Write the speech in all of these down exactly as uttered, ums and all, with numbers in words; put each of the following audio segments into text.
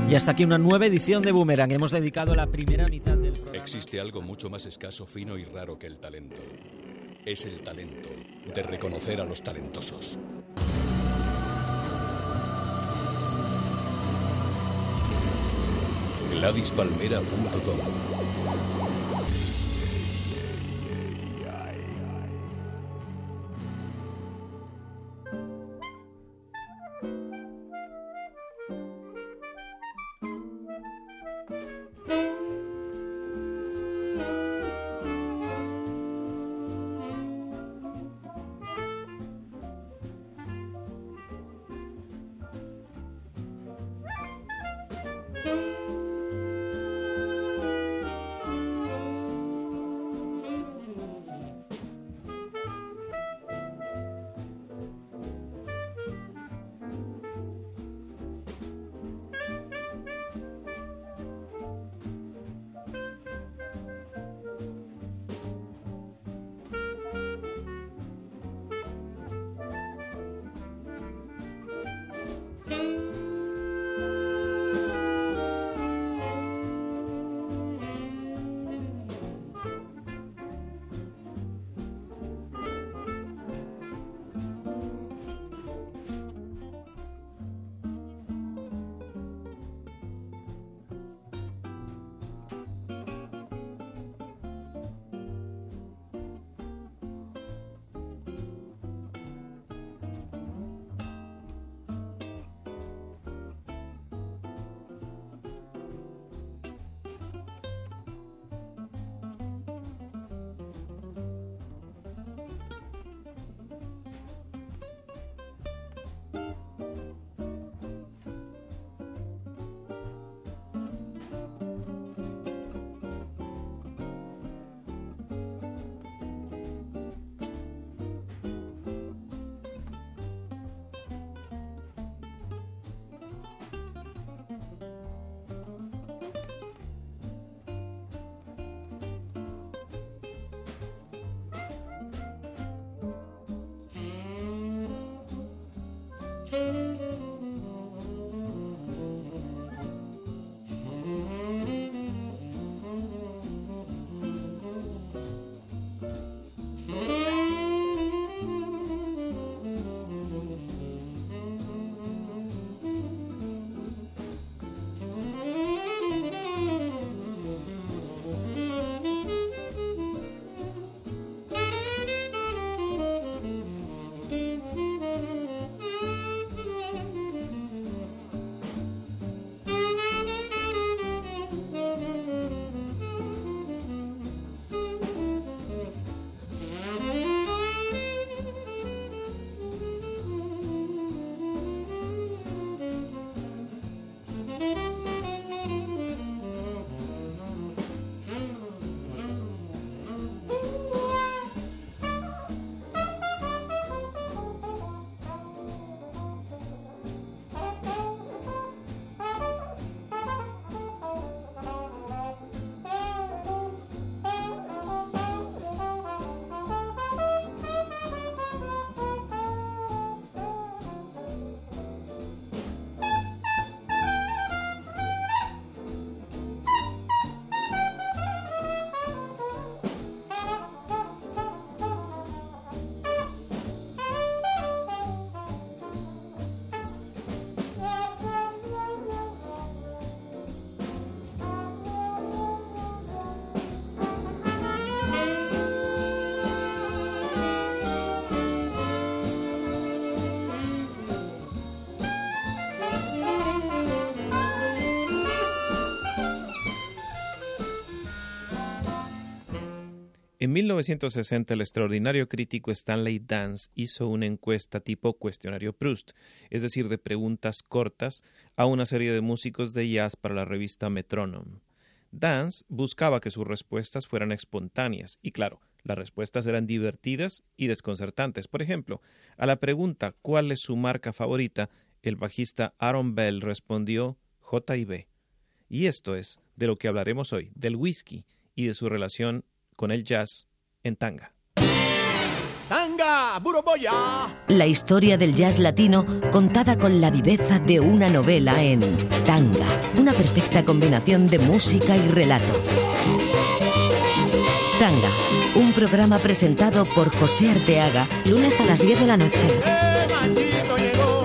Y hasta aquí una nueva edición de Boomerang. Hemos dedicado la primera mitad del programa. Existe algo mucho más escaso, fino y raro que el talento. Es el talento de reconocer a los talentosos. Gladys Palmera punto com. En mil novecientos sesenta, el extraordinario crítico Stanley Dance hizo una encuesta tipo cuestionario Proust, es decir, de preguntas cortas, a una serie de músicos de jazz para la revista Metronome. Dance buscaba que sus respuestas fueran espontáneas, y claro, las respuestas eran divertidas y desconcertantes. Por ejemplo, a la pregunta ¿cuál es su marca favorita?, el bajista Aaron Bell respondió J y B. Y esto es de lo que hablaremos hoy, del whisky y de su relación con el jazz en tanga. Tanga. Tanga, Buroboya. La historia del jazz latino contada con la viveza de una novela en Tanga, una perfecta combinación de música y relato. Tanga, un programa presentado por José Arteaga, lunes a las diez de la noche. ¡Eh, maldito llegó!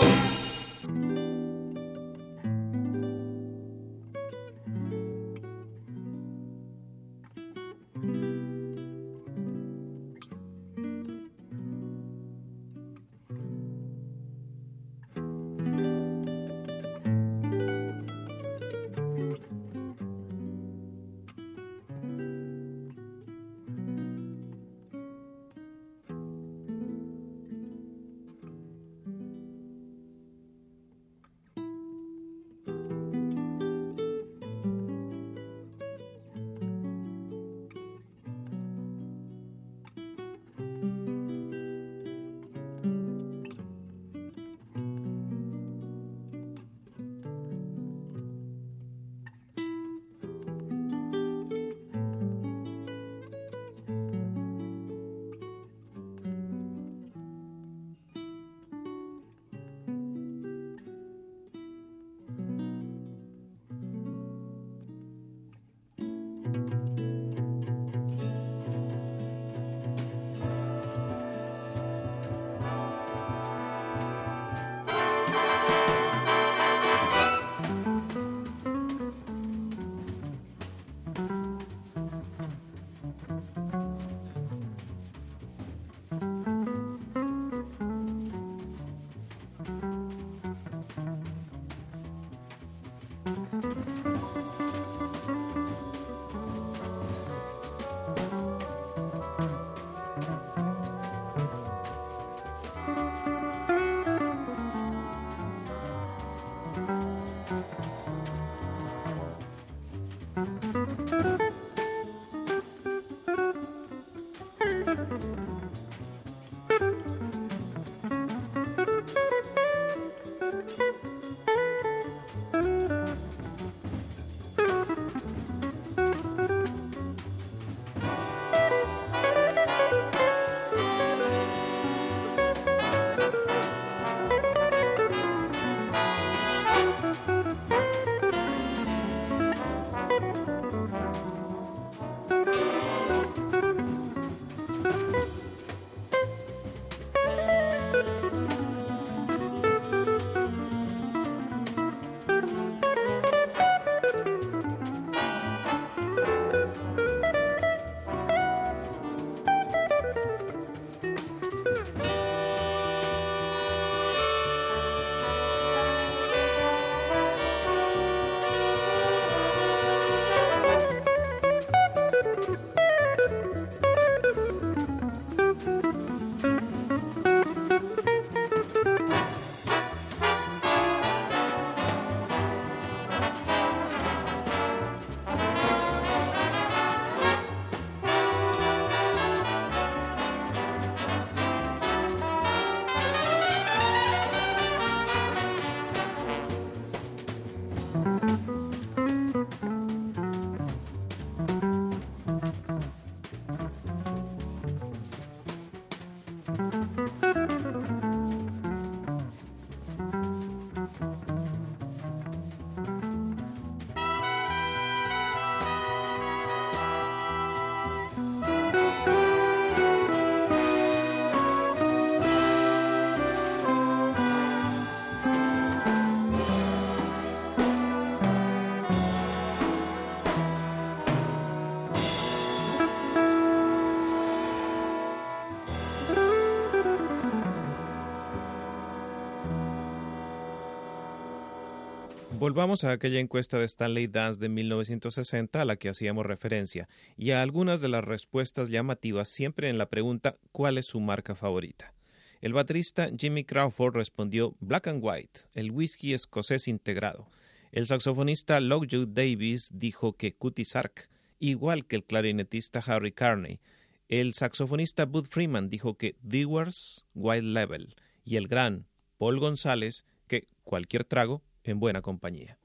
Volvamos a aquella encuesta de Stanley Dance de mil novecientos sesenta a la que hacíamos referencia y a algunas de las respuestas llamativas siempre en la pregunta ¿cuál es su marca favorita? El baterista Jimmy Crawford respondió Black and White, el whisky escocés integrado. El saxofonista Lockwood Davis dijo que Cutty Sark, igual que el clarinetista Harry Carney. El saxofonista Bud Freeman dijo que Dewars White Label y el gran Paul González que cualquier trago en buena compañía.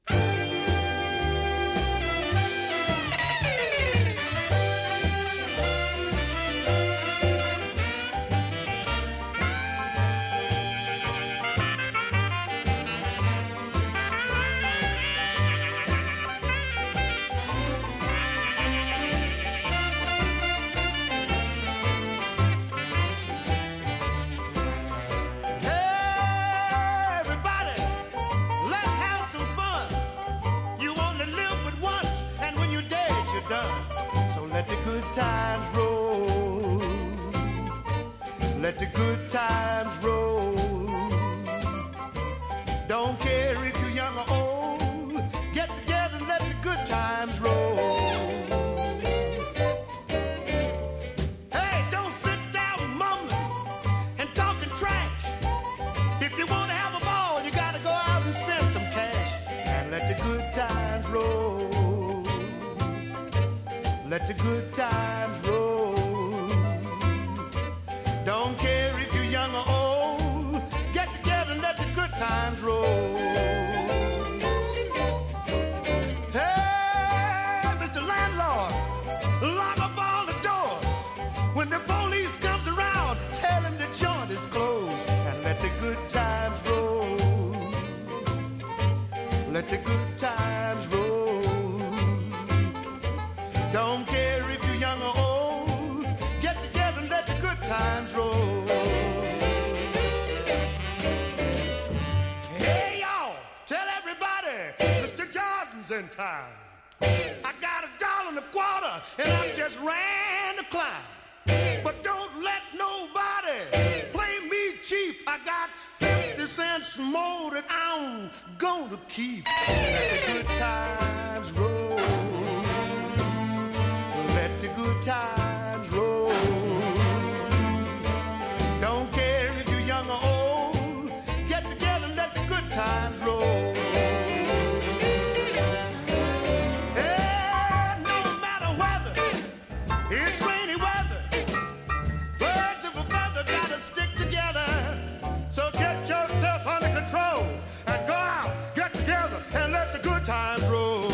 the good times roll. Let the good times roll. Don't care if you're young or old. Get together and let the good times roll. Hey, Mister Landlord, lock up all the doors. When the police comes around, tell them the joint is closed. And let the good times roll. Let the good times roll. Don't care if you're young or old. Get together and let the good times roll. Hey y'all, tell everybody Mister Jordan's in town. I got a dollar and a quarter and I just ran the climb. But don't let nobody play me cheap. I got fifty cents more that I'm gonna keep. Let the good times roll. Let the good times roll. Don't care if you're young or old. Get together and let the good times roll. Yeah, no matter whether it's rainy weather, birds of a feather gotta stick together. So get yourself under control and go out, get together and let the good times roll.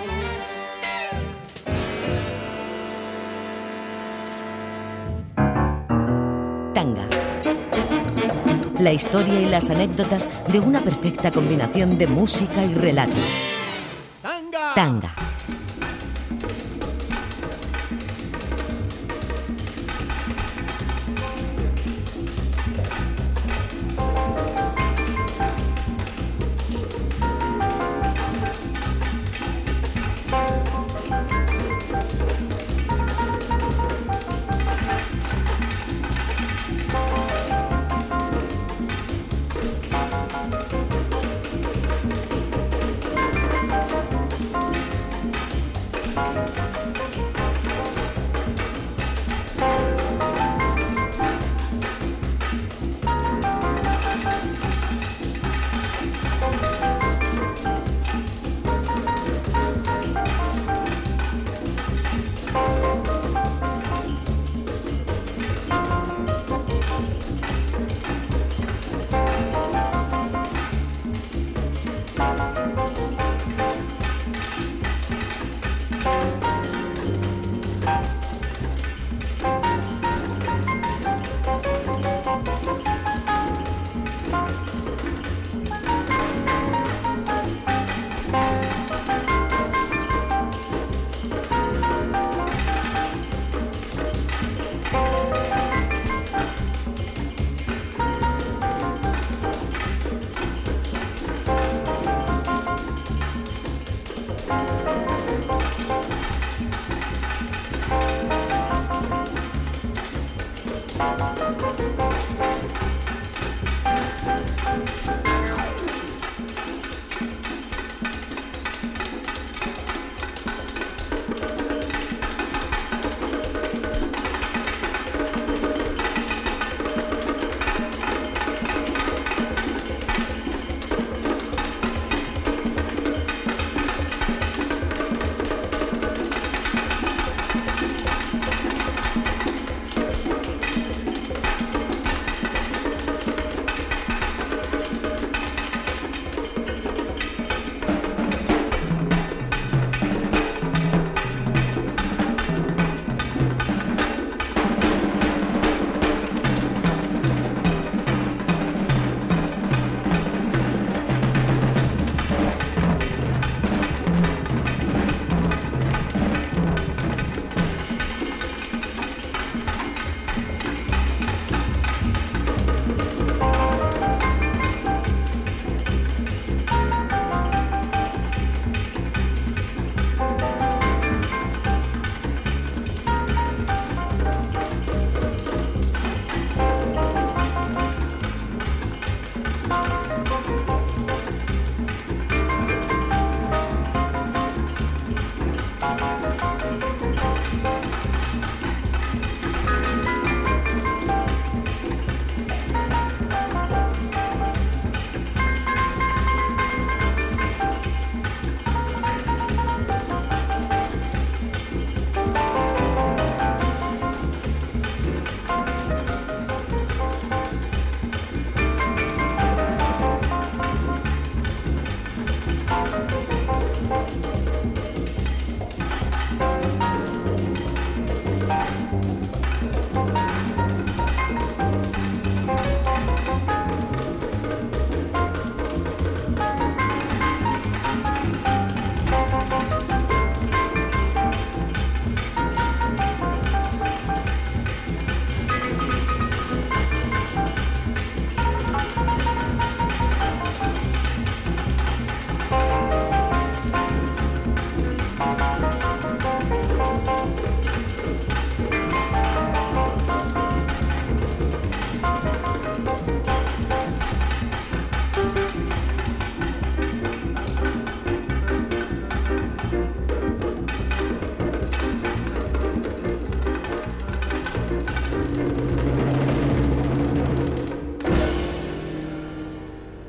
Tanga. La historia y las anécdotas de una perfecta combinación de música y relato. Tanga. Tanga.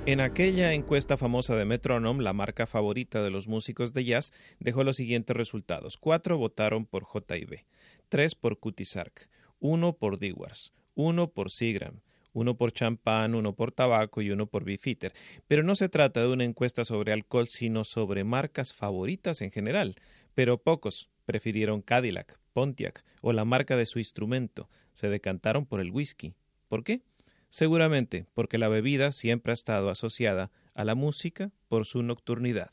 En aquella encuesta famosa de Metronome, la marca favorita de los músicos de jazz dejó los siguientes resultados. Cuatro votaron por J y B, tres por Cutty Sark, uno por Dewars, uno por Seagram, uno por champán, uno por tabaco y uno por Beefeater. Pero no se trata de una encuesta sobre alcohol, sino sobre marcas favoritas en general. Pero pocos prefirieron Cadillac, Pontiac o la marca de su instrumento. Se decantaron por el whisky. ¿Por qué? Seguramente porque la bebida siempre ha estado asociada a la música por su nocturnidad.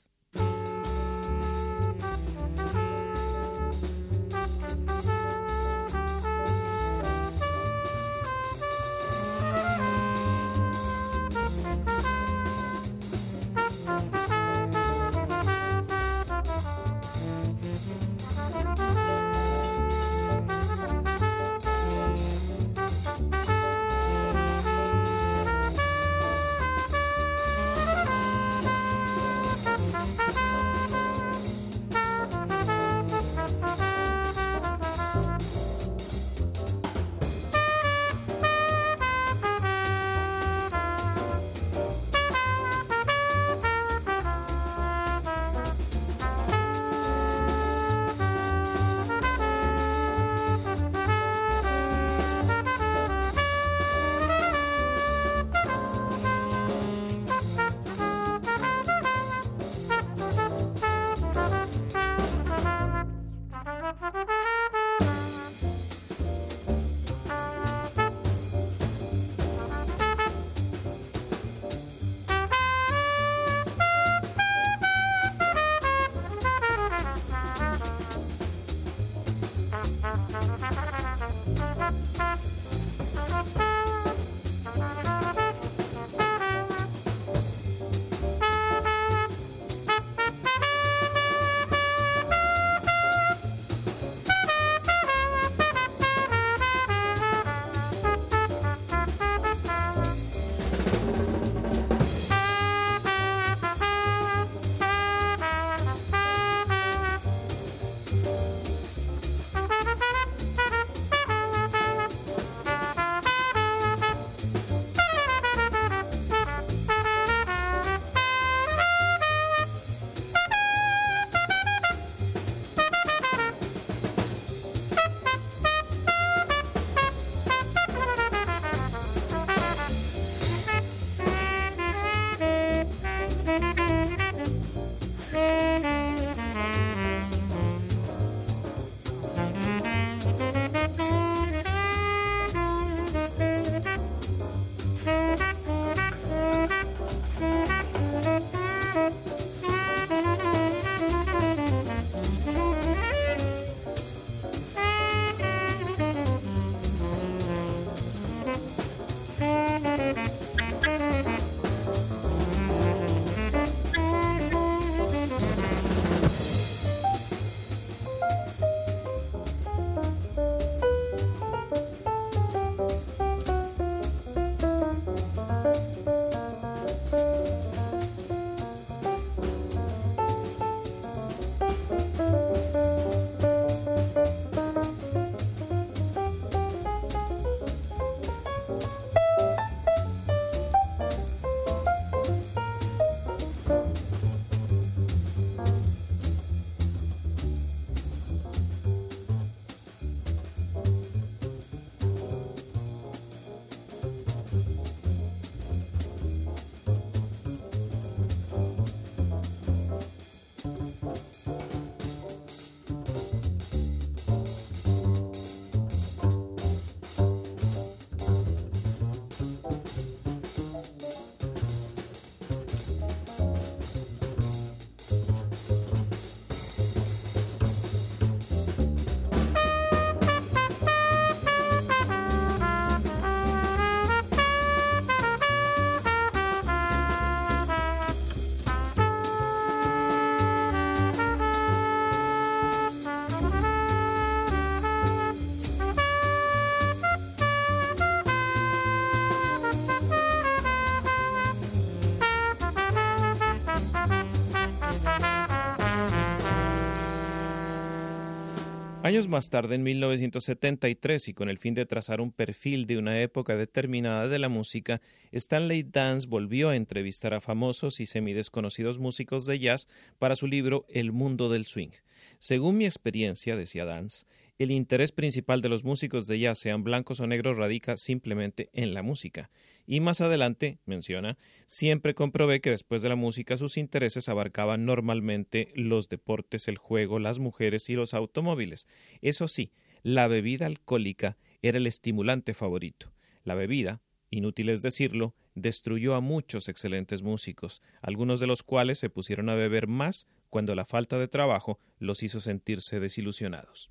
Años más tarde, en mil novecientos setenta y tres, y con el fin de trazar un perfil de una época determinada de la música, Stanley Dance volvió a entrevistar a famosos y semidesconocidos músicos de jazz para su libro El mundo del swing. Según mi experiencia, decía Dance, el interés principal de los músicos de jazz, sean blancos o negros, radica simplemente en la música. Y más adelante, menciona, siempre comprobé que después de la música sus intereses abarcaban normalmente los deportes, el juego, las mujeres y los automóviles. Eso sí, la bebida alcohólica era el estimulante favorito. La bebida, inútil es decirlo, destruyó a muchos excelentes músicos, algunos de los cuales se pusieron a beber más cuando la falta de trabajo los hizo sentirse desilusionados.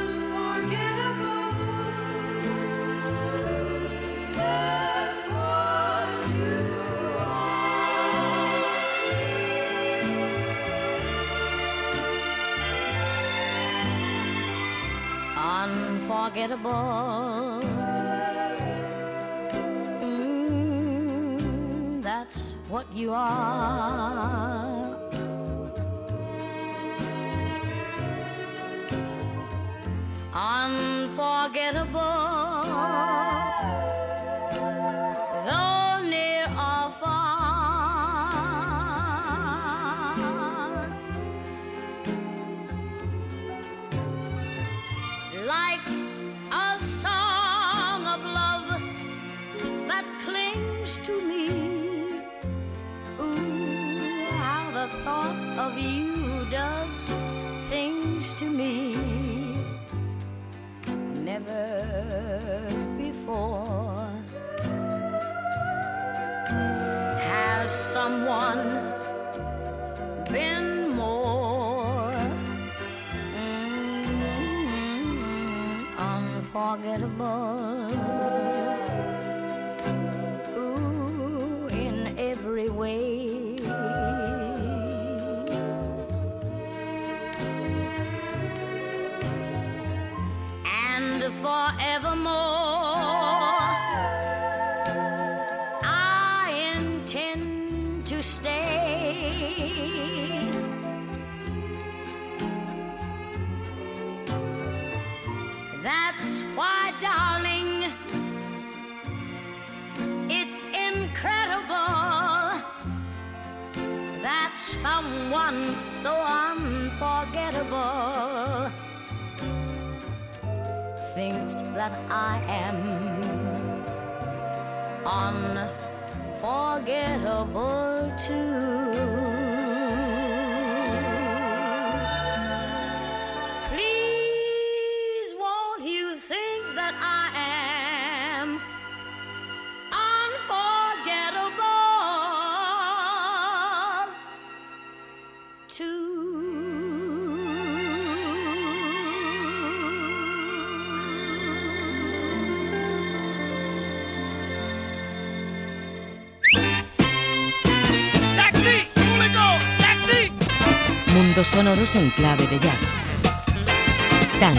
Unforgettable. Mm, that's what you are. Unforgettable. Though near or far. Like a song of love that clings to me. Ooh, how the thought of you does things to me. Never before has someone been more mm, unforgettable. Ooh, in every way. Forevermore, I intend to stay. That's why, darling, it's incredible that someone so unforgettable thinks that I am unforgettable too. Please, won't you think that I am unforgettable too? Mundos sonoros en clave de jazz. Tanga.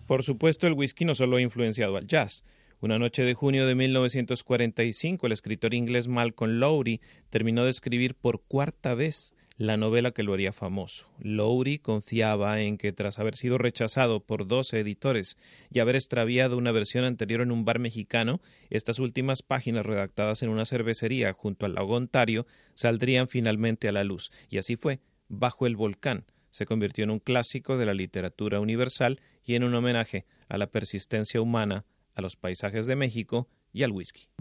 Por supuesto, el whisky no solo ha influenciado al jazz. Una noche de junio de mil novecientos cuarenta y cinco, el escritor inglés Malcolm Lowry terminó de escribir por cuarta vez la novela que lo haría famoso. Lowry confiaba en que tras haber sido rechazado por doce editores y haber extraviado una versión anterior en un bar mexicano, estas últimas páginas redactadas en una cervecería junto al lago Ontario saldrían finalmente a la luz. Y así fue. Bajo el volcán se convirtió en un clásico de la literatura universal y en un homenaje a la persistencia humana, a los paisajes de México y al whisky.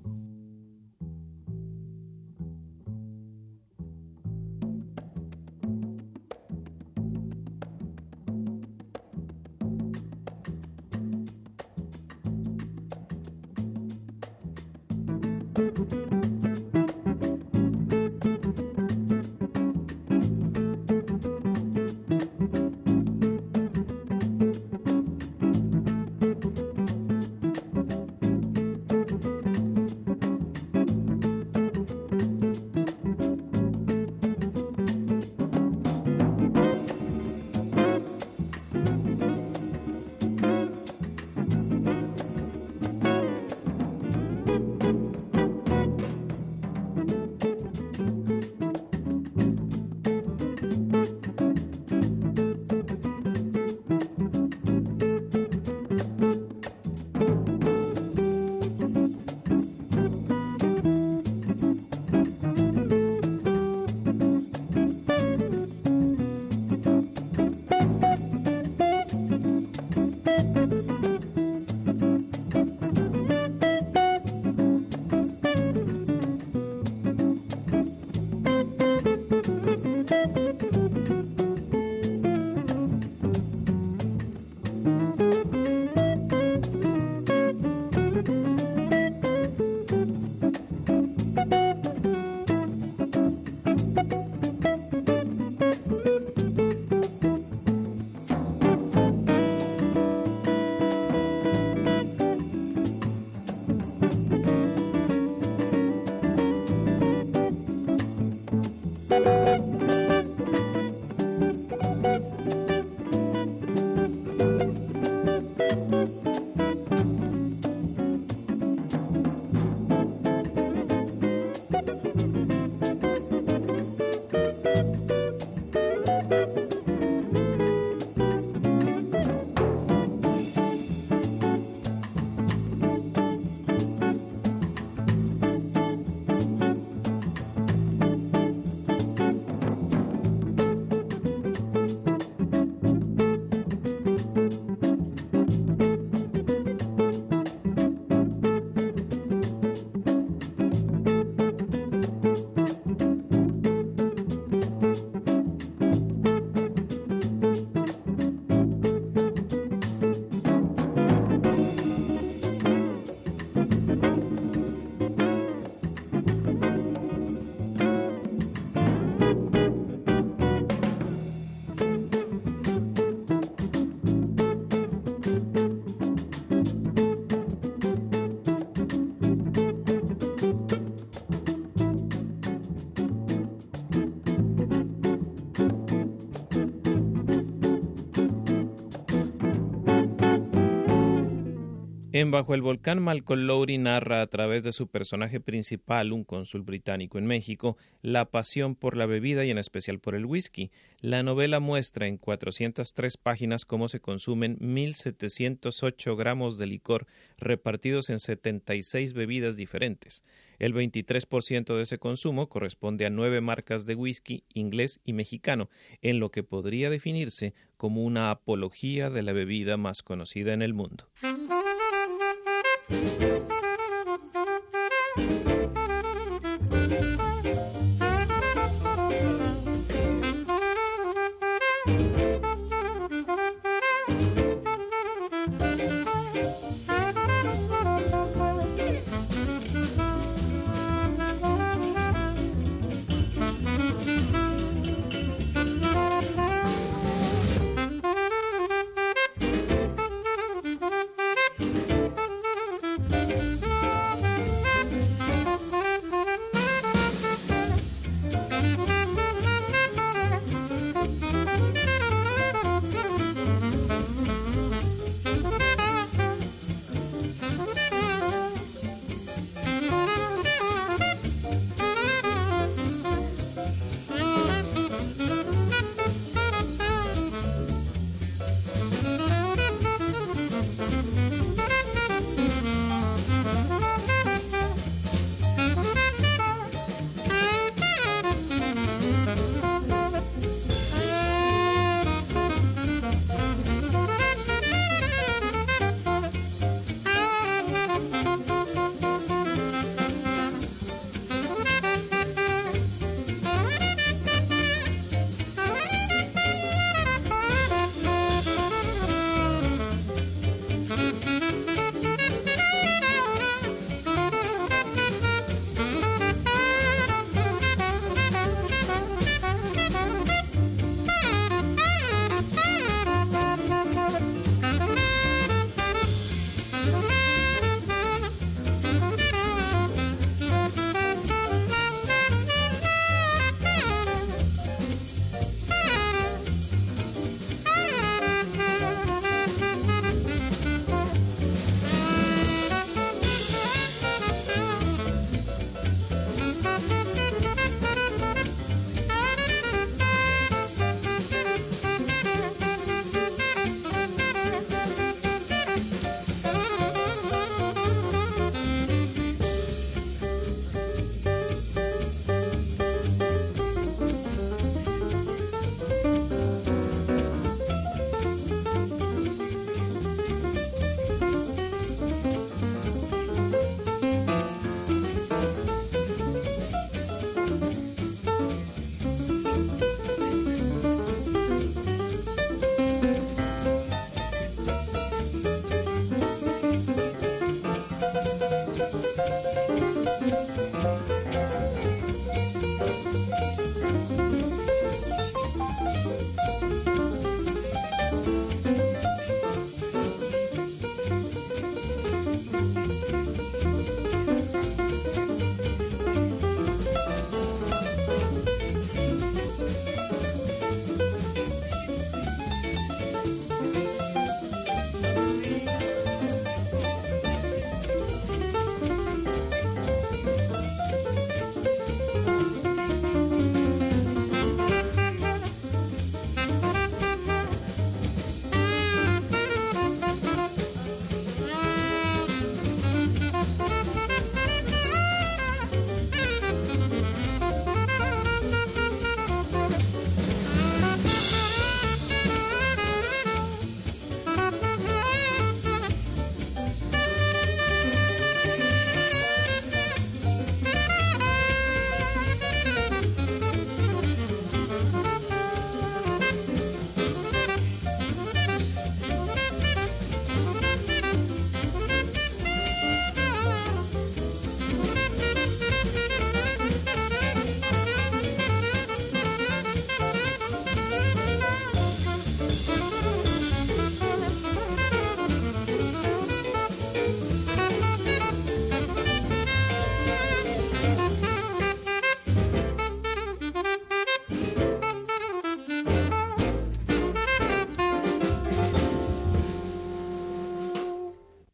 En Bajo el volcán, Malcolm Lowry narra a través de su personaje principal, un cónsul británico en México, la pasión por la bebida y en especial por el whisky. La novela muestra en cuatrocientas tres páginas cómo se consumen mil setecientos ocho gramos de licor repartidos en setenta y seis bebidas diferentes. El veintitrés por ciento de ese consumo corresponde a nueve marcas de whisky inglés y mexicano, en lo que podría definirse como una apología de la bebida más conocida en el mundo.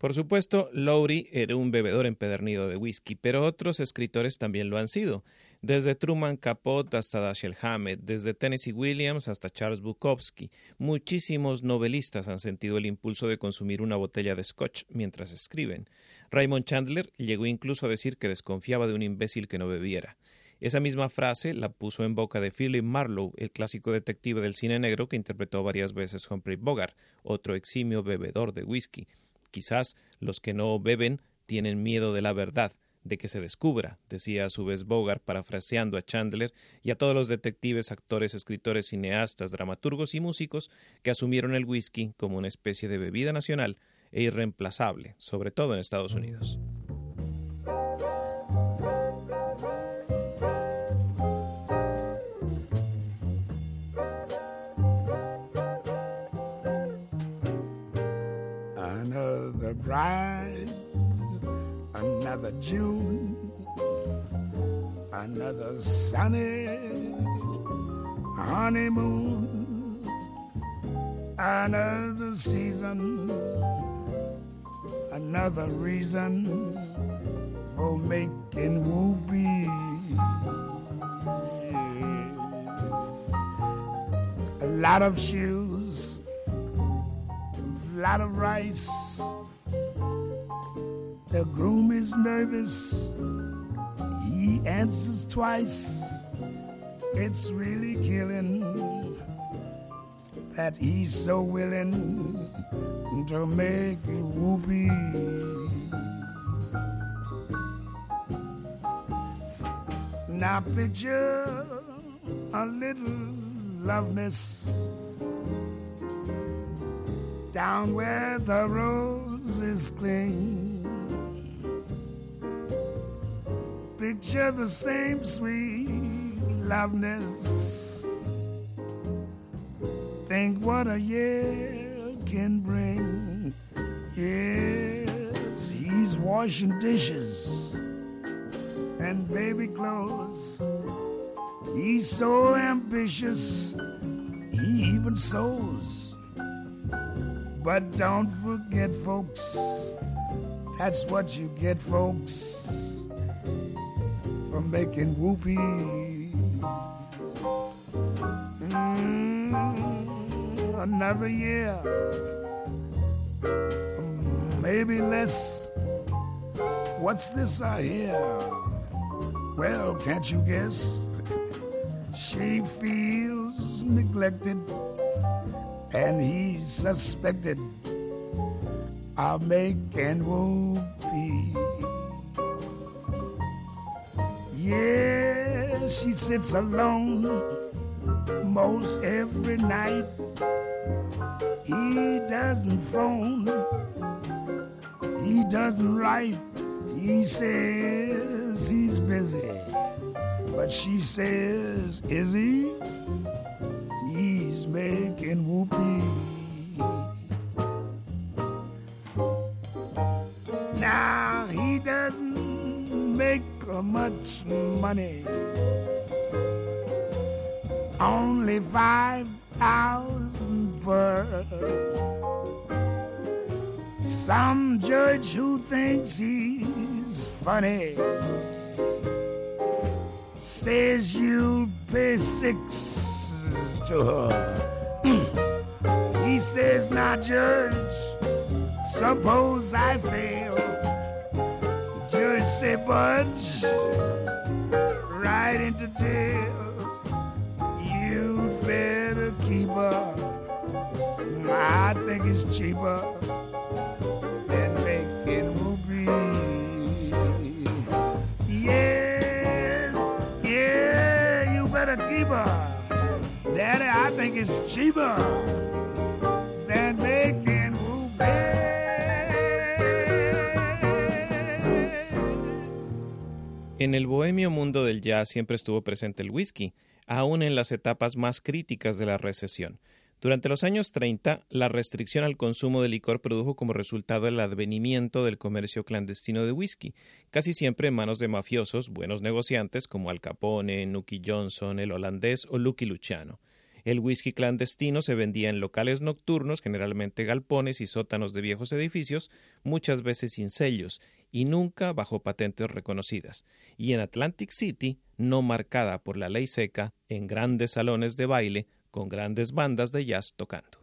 Por supuesto, Lowry era un bebedor empedernido de whisky, pero otros escritores también lo han sido. Desde Truman Capote hasta Dashiell Hammett, desde Tennessee Williams hasta Charles Bukowski, muchísimos novelistas han sentido el impulso de consumir una botella de scotch mientras escriben. Raymond Chandler llegó incluso a decir que desconfiaba de un imbécil que no bebiera. Esa misma frase la puso en boca de Philip Marlowe, el clásico detective del cine negro que interpretó varias veces Humphrey Bogart, otro eximio bebedor de whisky. Quizás los que no beben tienen miedo de la verdad, de que se descubra, decía a su vez Bogart, parafraseando a Chandler y a todos los detectives, actores, escritores, cineastas, dramaturgos y músicos que asumieron el whisky como una especie de bebida nacional e irreemplazable, sobre todo en Estados Unidos. Another bride, another June, another sunny honeymoon, another season, another reason for making whoopee. A lot of shoes, a lot of rice. The groom is nervous, he answers twice. It's really killing that he's so willing to make it whoopee. Now picture a little loveness down where the roses cling. Picture the same sweet loveness. Think what a year can bring. Yes, he's washing dishes and baby clothes. He's so ambitious, he even sews. But don't forget, folks, that's what you get, folks, for making whoopee. Mm, another year, maybe less. What's this I hear? Well, can't you guess? She feels neglected, and he's suspected of making whoopee. Yeah, she sits alone most every night. He doesn't phone, he doesn't write. He says he's busy, but she says, is he? He's making whoopee. Now he doesn't make much money, only five thousand per. Some judge who thinks he's funny says you'll pay six to her. He says, now judge, suppose I fail. The judge say, budge right into jail. You better keep her. I think it's cheaper than making whoopee. Yes, yeah, you better keep her. Daddy, I think it's cheaper than making whoopee. En el bohemio mundo del jazz siempre estuvo presente el whisky, aún en las etapas más críticas de la recesión. Durante los años treinta, la restricción al consumo de licor produjo como resultado el advenimiento del comercio clandestino de whisky, casi siempre en manos de mafiosos, buenos negociantes como Al Capone, Nucky Johnson, el holandés o Lucky Luciano. El whisky clandestino se vendía en locales nocturnos, generalmente galpones y sótanos de viejos edificios, muchas veces sin sellos y nunca bajo patentes reconocidas. Y en Atlantic City, no marcada por la ley seca, en grandes salones de baile con grandes bandas de jazz tocando.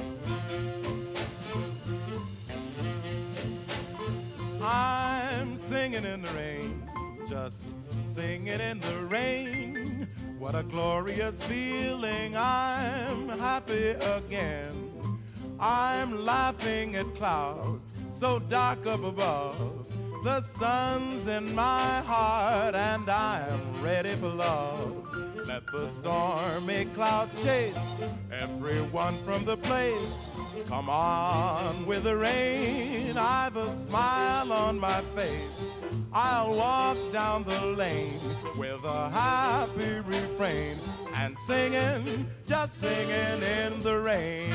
I'm singing in the rain, just singing in the rain. What a glorious feeling, I'm happy again. I'm laughing at clouds so dark up above. The sun's in my heart and I'm ready for love. Let the stormy clouds chase everyone from the place. Come on with the rain, I've a smile on my face. I'll walk down the lane with a happy refrain and singing, just singing in the rain.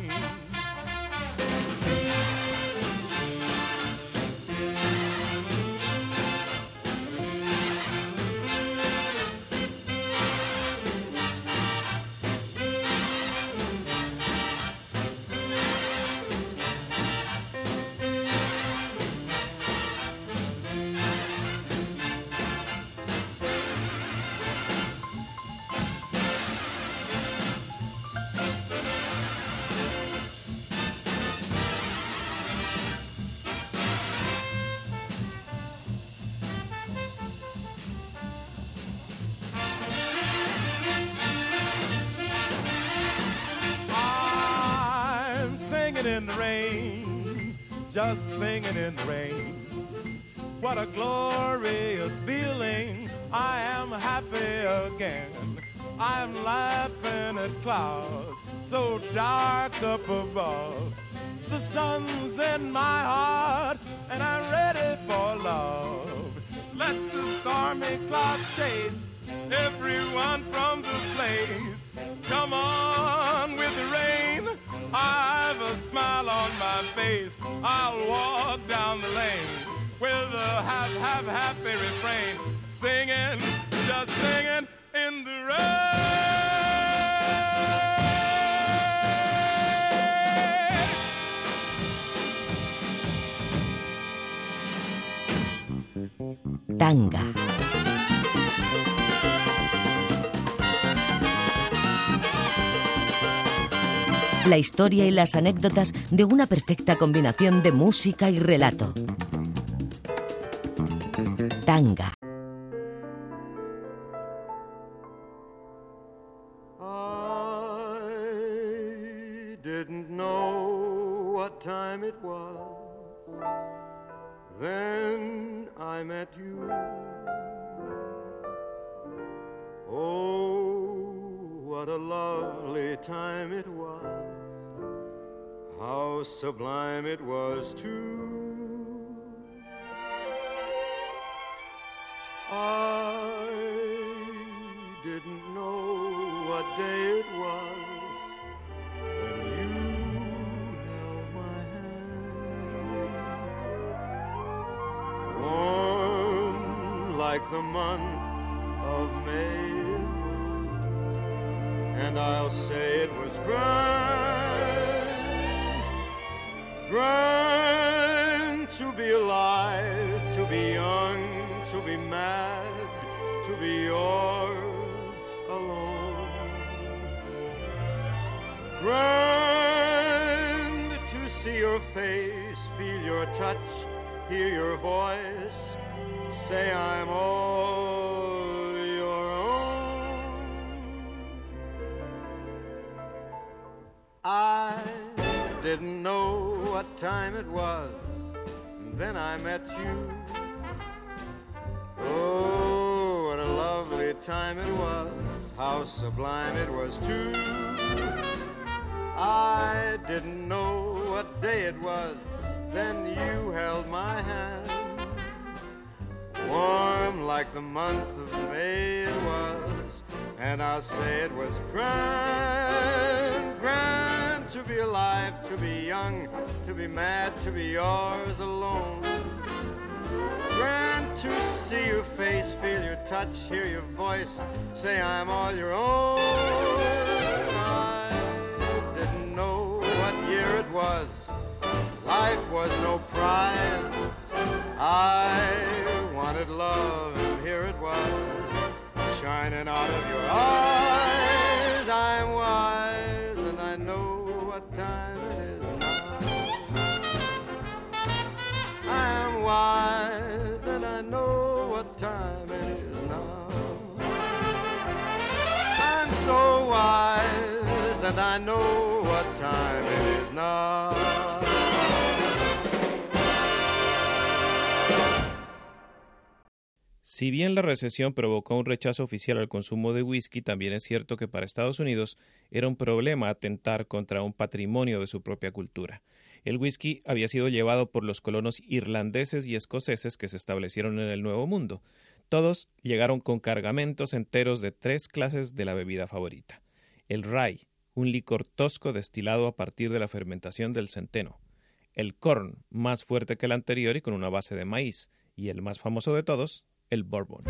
In the rain, just singing in the rain. What a glorious feeling, I am happy again. I'm laughing at clouds so dark up above. The sun's in my heart and I'm ready for love. Let the stormy clouds chase everyone from the place. Come on with the rain, I've a smile on my face. I'll walk down the lane with a half, half, happy refrain, singing, just singing in the rain. Tanga. La historia y las anécdotas de una perfecta combinación de música y relato. Tanga. I didn't know what time it was. Then I met you. Oh, what a lovely time it was. How sublime it was too. I didn't know what day it was when you held my hand. Warm like the month of May, and I'll say it was grand, grand to be alive, to be young, to be mad, to be yours alone. Grand to see your face, feel your touch, hear your voice, say I'm all your own. I didn't know what time it was, and then I met you. Oh, what a lovely time it was, how sublime it was too. I didn't know what day it was, then you held my hand. Warm like the month of May it was, and I'll say it was grand, grand to be alive, to be young, to be mad, to be yours alone. Grand to see your face, feel your touch, hear your voice, say I'm all your own. it was, life was no prize. I wanted love, and here it was, shining out of your eyes. I'm wise, and I know what time it is now. I'm wise, and I know what time it is now. I'm so wise, and I know what time it is now. Si bien la recesión provocó un rechazo oficial al consumo de whisky, también es cierto que para Estados Unidos era un problema atentar contra un patrimonio de su propia cultura. El whisky había sido llevado por los colonos irlandeses y escoceses que se establecieron en el Nuevo Mundo. Todos llegaron con cargamentos enteros de tres clases de la bebida favorita. El rye, un licor tosco destilado a partir de la fermentación del centeno. El corn, más fuerte que el anterior y con una base de maíz. Y el más famoso de todos, el bourbon.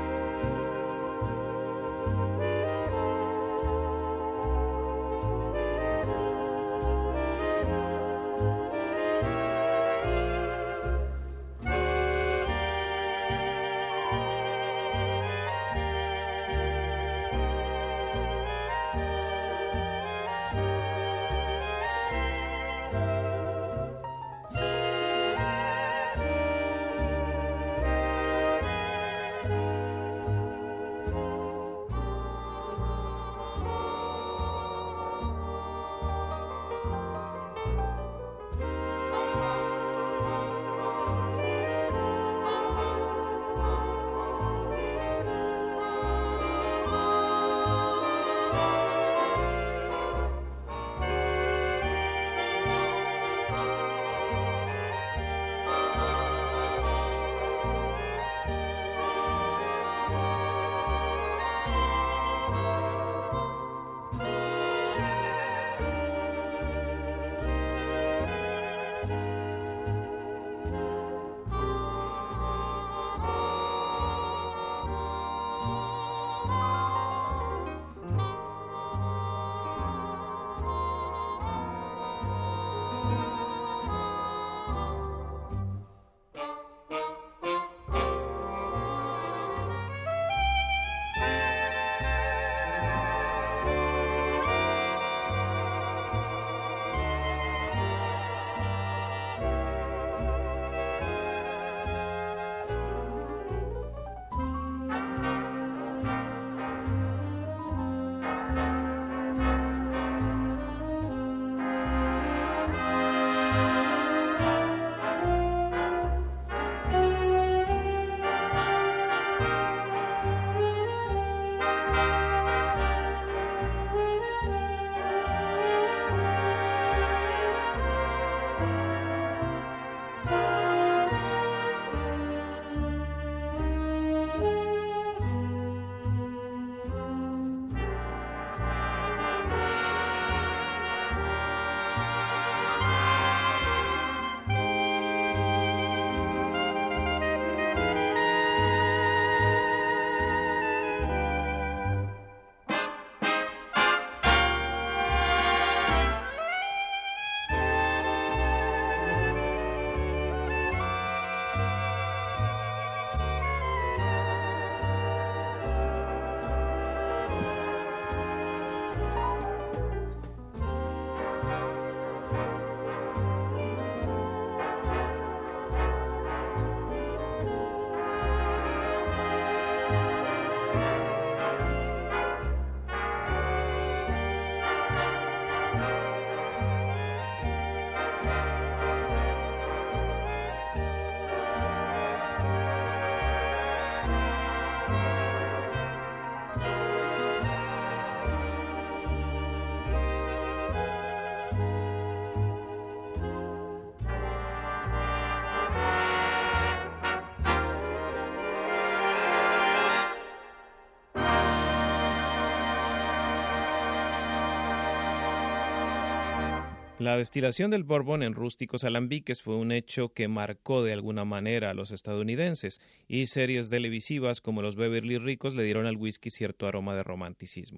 La destilación del bourbon en rústicos alambiques fue un hecho que marcó de alguna manera a los estadounidenses, y series televisivas como Los Beverly Ricos le dieron al whisky cierto aroma de romanticismo.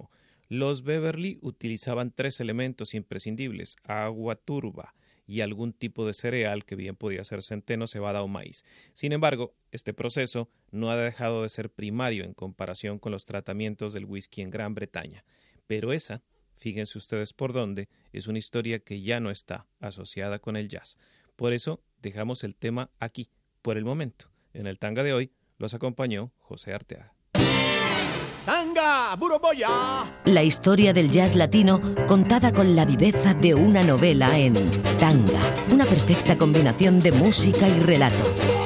Los Beverly utilizaban tres elementos imprescindibles: agua turba y algún tipo de cereal que bien podía ser centeno, cebada o maíz. Sin embargo, este proceso no ha dejado de ser primario en comparación con los tratamientos del whisky en Gran Bretaña. Pero esa, fíjense ustedes por dónde, es una historia que ya no está asociada con el jazz. Por eso dejamos el tema aquí, por el momento. En el tanga de hoy los acompañó José Arteaga. ¡Tanga, Buroboya! La historia del jazz latino contada con la viveza de una novela en Tanga, una perfecta combinación de música y relato.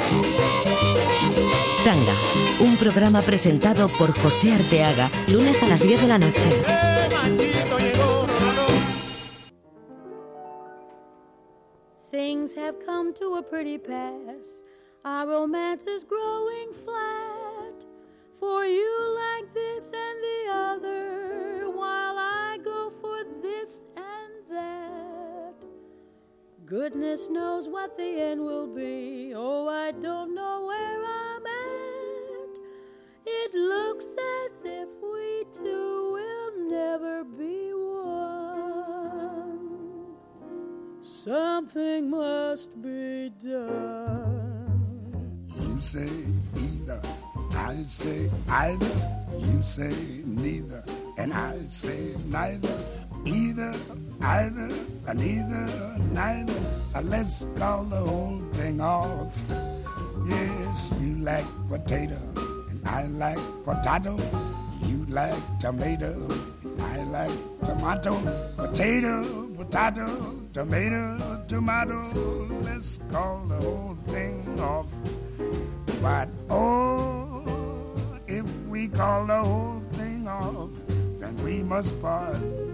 Tanga, un programa presentado por José Arteaga, lunes a las diez de la noche. ¡Eh, maldito llegó! Things have come to a pretty pass. Our romance is growing flat. For you like this and the other, while I go for this and that. Goodness knows what the end will be. Oh, I don't know where I'm at. It looks as if we two will never be one. Something must be done. You say either, I say either, you say neither, and I say neither. Either, either, neither, neither. Uh, let's call the whole thing off. Yes, you like potato, and I like potato. You like tomato, and I like tomato. Potato, potato, tomato, tomato. Let's call the whole thing off. But oh, if we call the whole thing off, then we must part.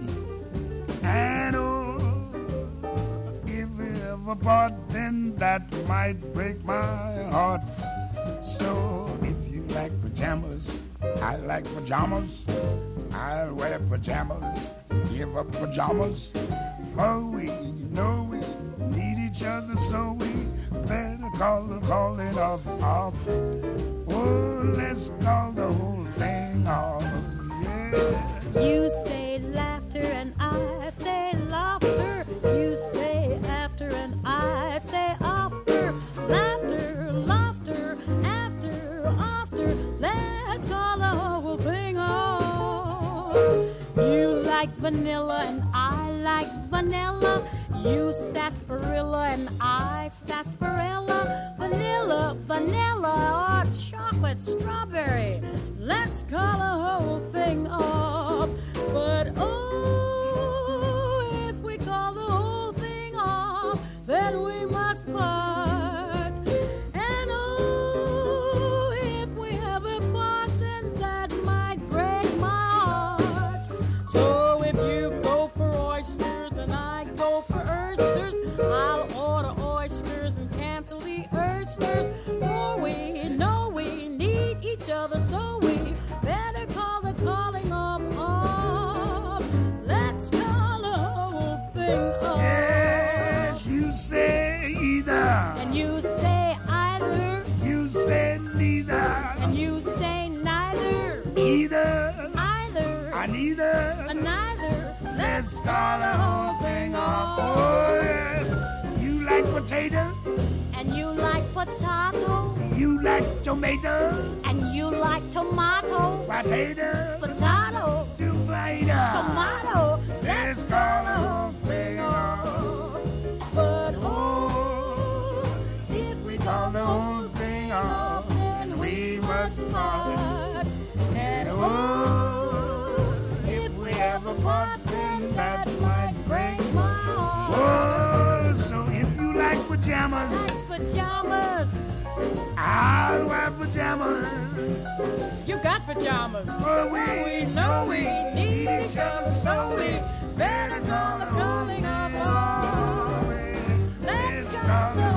And oh, if we ever part, then that might break my heart. So if you like pajamas, I like pajamas. I'll wear pajamas, give up pajamas. For we know we need each other, so we better call the calling off off. Oh, let's call the whole thing off. Yeah. You say laughter and I say laughter. You say after and I say after. Laughter, laughter, after, after. Let's call the whole thing off. You like vanilla and I like vanilla. You sarsaparilla and I sarsaparilla. Vanilla, vanilla, or chocolate strawberry. Let's call the whole thing off. But oh, if we call the whole thing off, then we must part. And oh, if we ever part, then that might break my heart. So if you go for oysters and I go for oysters, I'll order oysters and cancel the oysters. For we know we need each other, so we better call the calling off off. Let's call the whole thing off. Yes, you say either, And you say either, you say neither, and you say neither, either, either, I neither. or neither. Let's call the whole thing off. Oh yes, you like potato, And you like potato, you like tomato, and you like tomato, potato, potato, tomato. tomato. Let's call the whole thing off. But Oh, if we call the whole thing off, then we must part. And oh, if we ever part, then that might break my heart. Oh, so if you like pajamas, pajamas, I'll wear pajamas. you got pajamas. For we, We know we need each other, so we better call the calling off. Let's call the